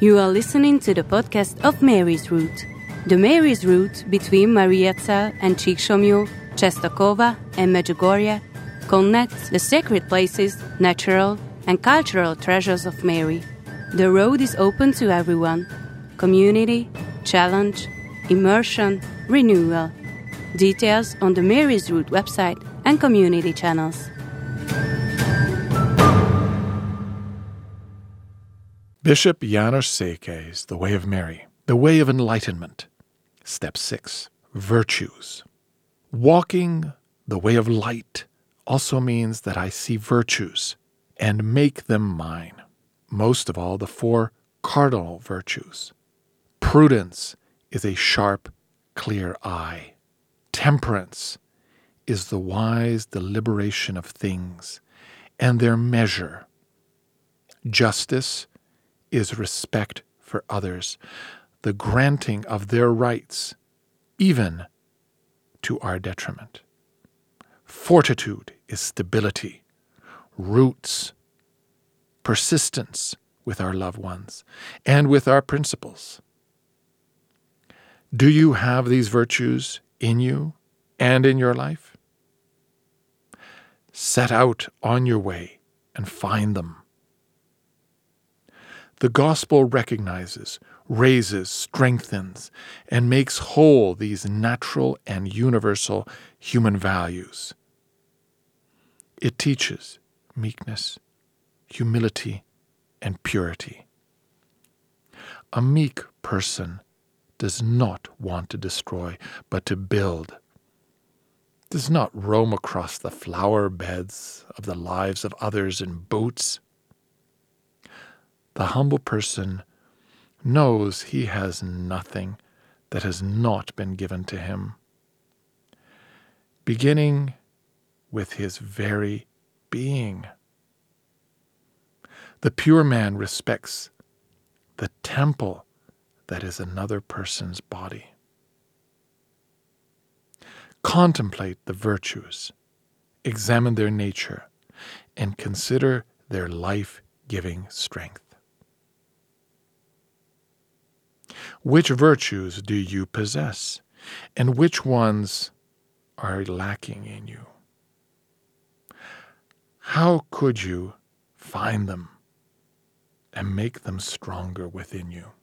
You are listening to the podcast of Mary's Route. The Mary's Route between Mariazell and Csíksomlyó, Czestochowa and Medjugorje connects the sacred places, natural and cultural treasures of Mary. The road is open to everyone. Community, challenge, immersion, renewal. Details on the Mary's Route website and community channels. Bishop János Székely's The Way of Mary, The Way of Enlightenment. Step 6. Virtues. Walking the way of light also means that I see virtues and make them mine. Most of all, the 4 cardinal virtues. Prudence is a sharp, clear eye. Temperance is the wise deliberation of things and their measure. Justice is respect for others, the granting of their rights, even to our detriment. Fortitude is stability, roots, persistence with our loved ones, and with our principles. Do you have these virtues in you and in your life? Set out on your way and find them. The gospel recognizes, raises, strengthens, and makes whole these natural and universal human values. It teaches meekness, humility, and purity. A meek person does not want to destroy, but to build. Does not roam across the flower beds of the lives of others in boots. The humble person knows he has nothing that has not been given to him, beginning with his very being. The pure man respects the temple that is another person's body. Contemplate the virtues, examine their nature, and consider their life-giving strength. Which virtues do you possess, and which ones are lacking in you? How could you find them and make them stronger within you?